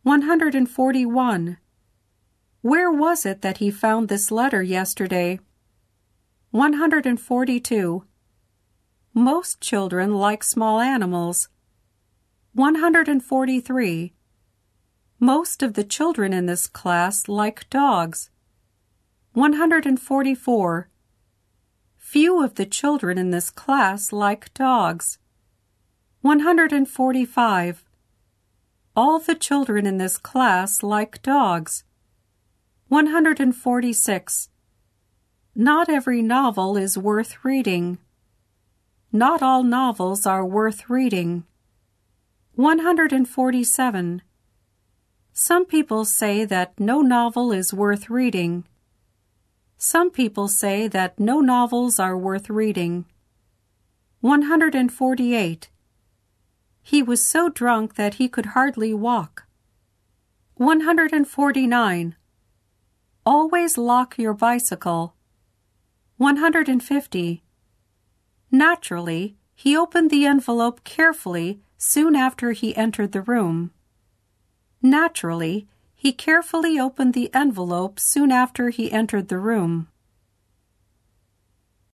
141. Where was it that he found this letter yesterday? 142. Most children like small animals. 143. Most of the children in this class like dogs. 144. Few of the children in this class like dogs. 145. All the children in this class like dogs. 146. Not every novel is worth reading. Not all novels are worth reading. 147. Some people say that no novel is worth reading. Some people say that no novels are worth reading. 148. He was so drunk that he could hardly walk. 149. Always lock your bicycle. 150. Naturally, he opened the envelope carefully soon after he entered the room. Naturally, he carefully opened the envelope soon after he entered the room.